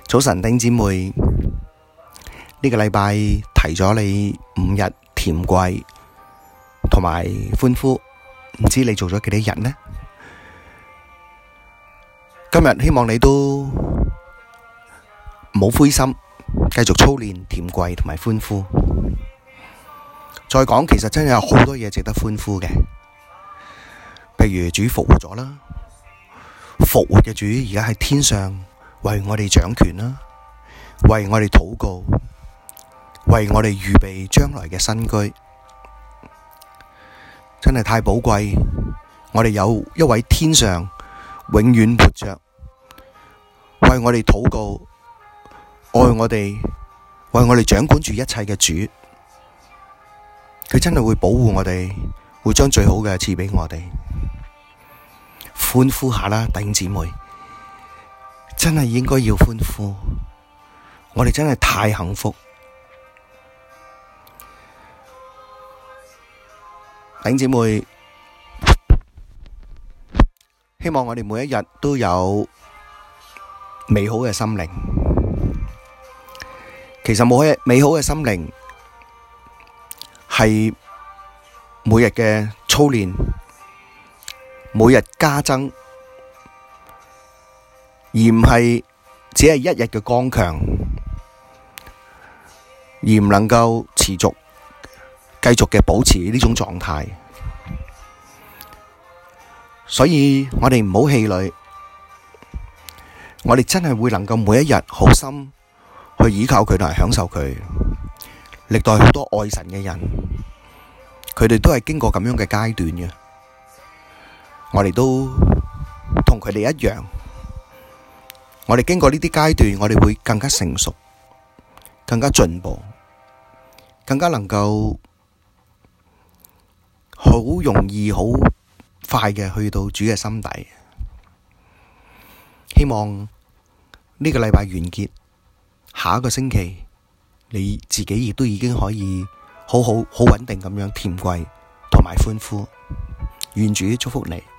早晨，弟兄姊妹，呢個禮拜提咗你5日甜跪同埋歡呼，唔知你做咗幾多日呢？今日希望你都唔好灰心，繼續操練甜跪同埋歡呼。再講，其實真係有好多嘢值得歡呼嘅，譬如主復活咗啦，復活嘅主而家喺天上為我哋掌權啦，為我哋禱告，為我哋預備將來嘅新居，真係太寶貴。我哋有一位天上永遠活着，為我哋禱告，愛我哋，為我哋掌管住一切嘅主，佢真係會保護我哋，會將最好嘅賜畀我哋。歡呼下啦，弟兄姊妹，真係應該要歡呼，我哋真係太幸福。弟兄姊妹，希望我哋每一日都有美好嘅心靈。其實美好嘅心靈係每日嘅操練，每日加增，而唔係只係一日嘅剛強，而唔能夠持續繼續嘅保持呢種狀態。所以我哋唔好氣餒，我哋真係會能夠每一日好心去依靠佢同埋享受佢。歷代好多愛神嘅人，佢哋都係經過咁樣嘅階段嘅。我哋都同佢哋一樣，我哋經過呢啲階段，我哋會更加成熟，更加進步，更加能夠好容易、好快嘅去到主嘅心底。希望呢個禮拜完結，下一個星期你自己亦都已經可以好穩定咁樣甜跪同埋歡呼。願主祝福你。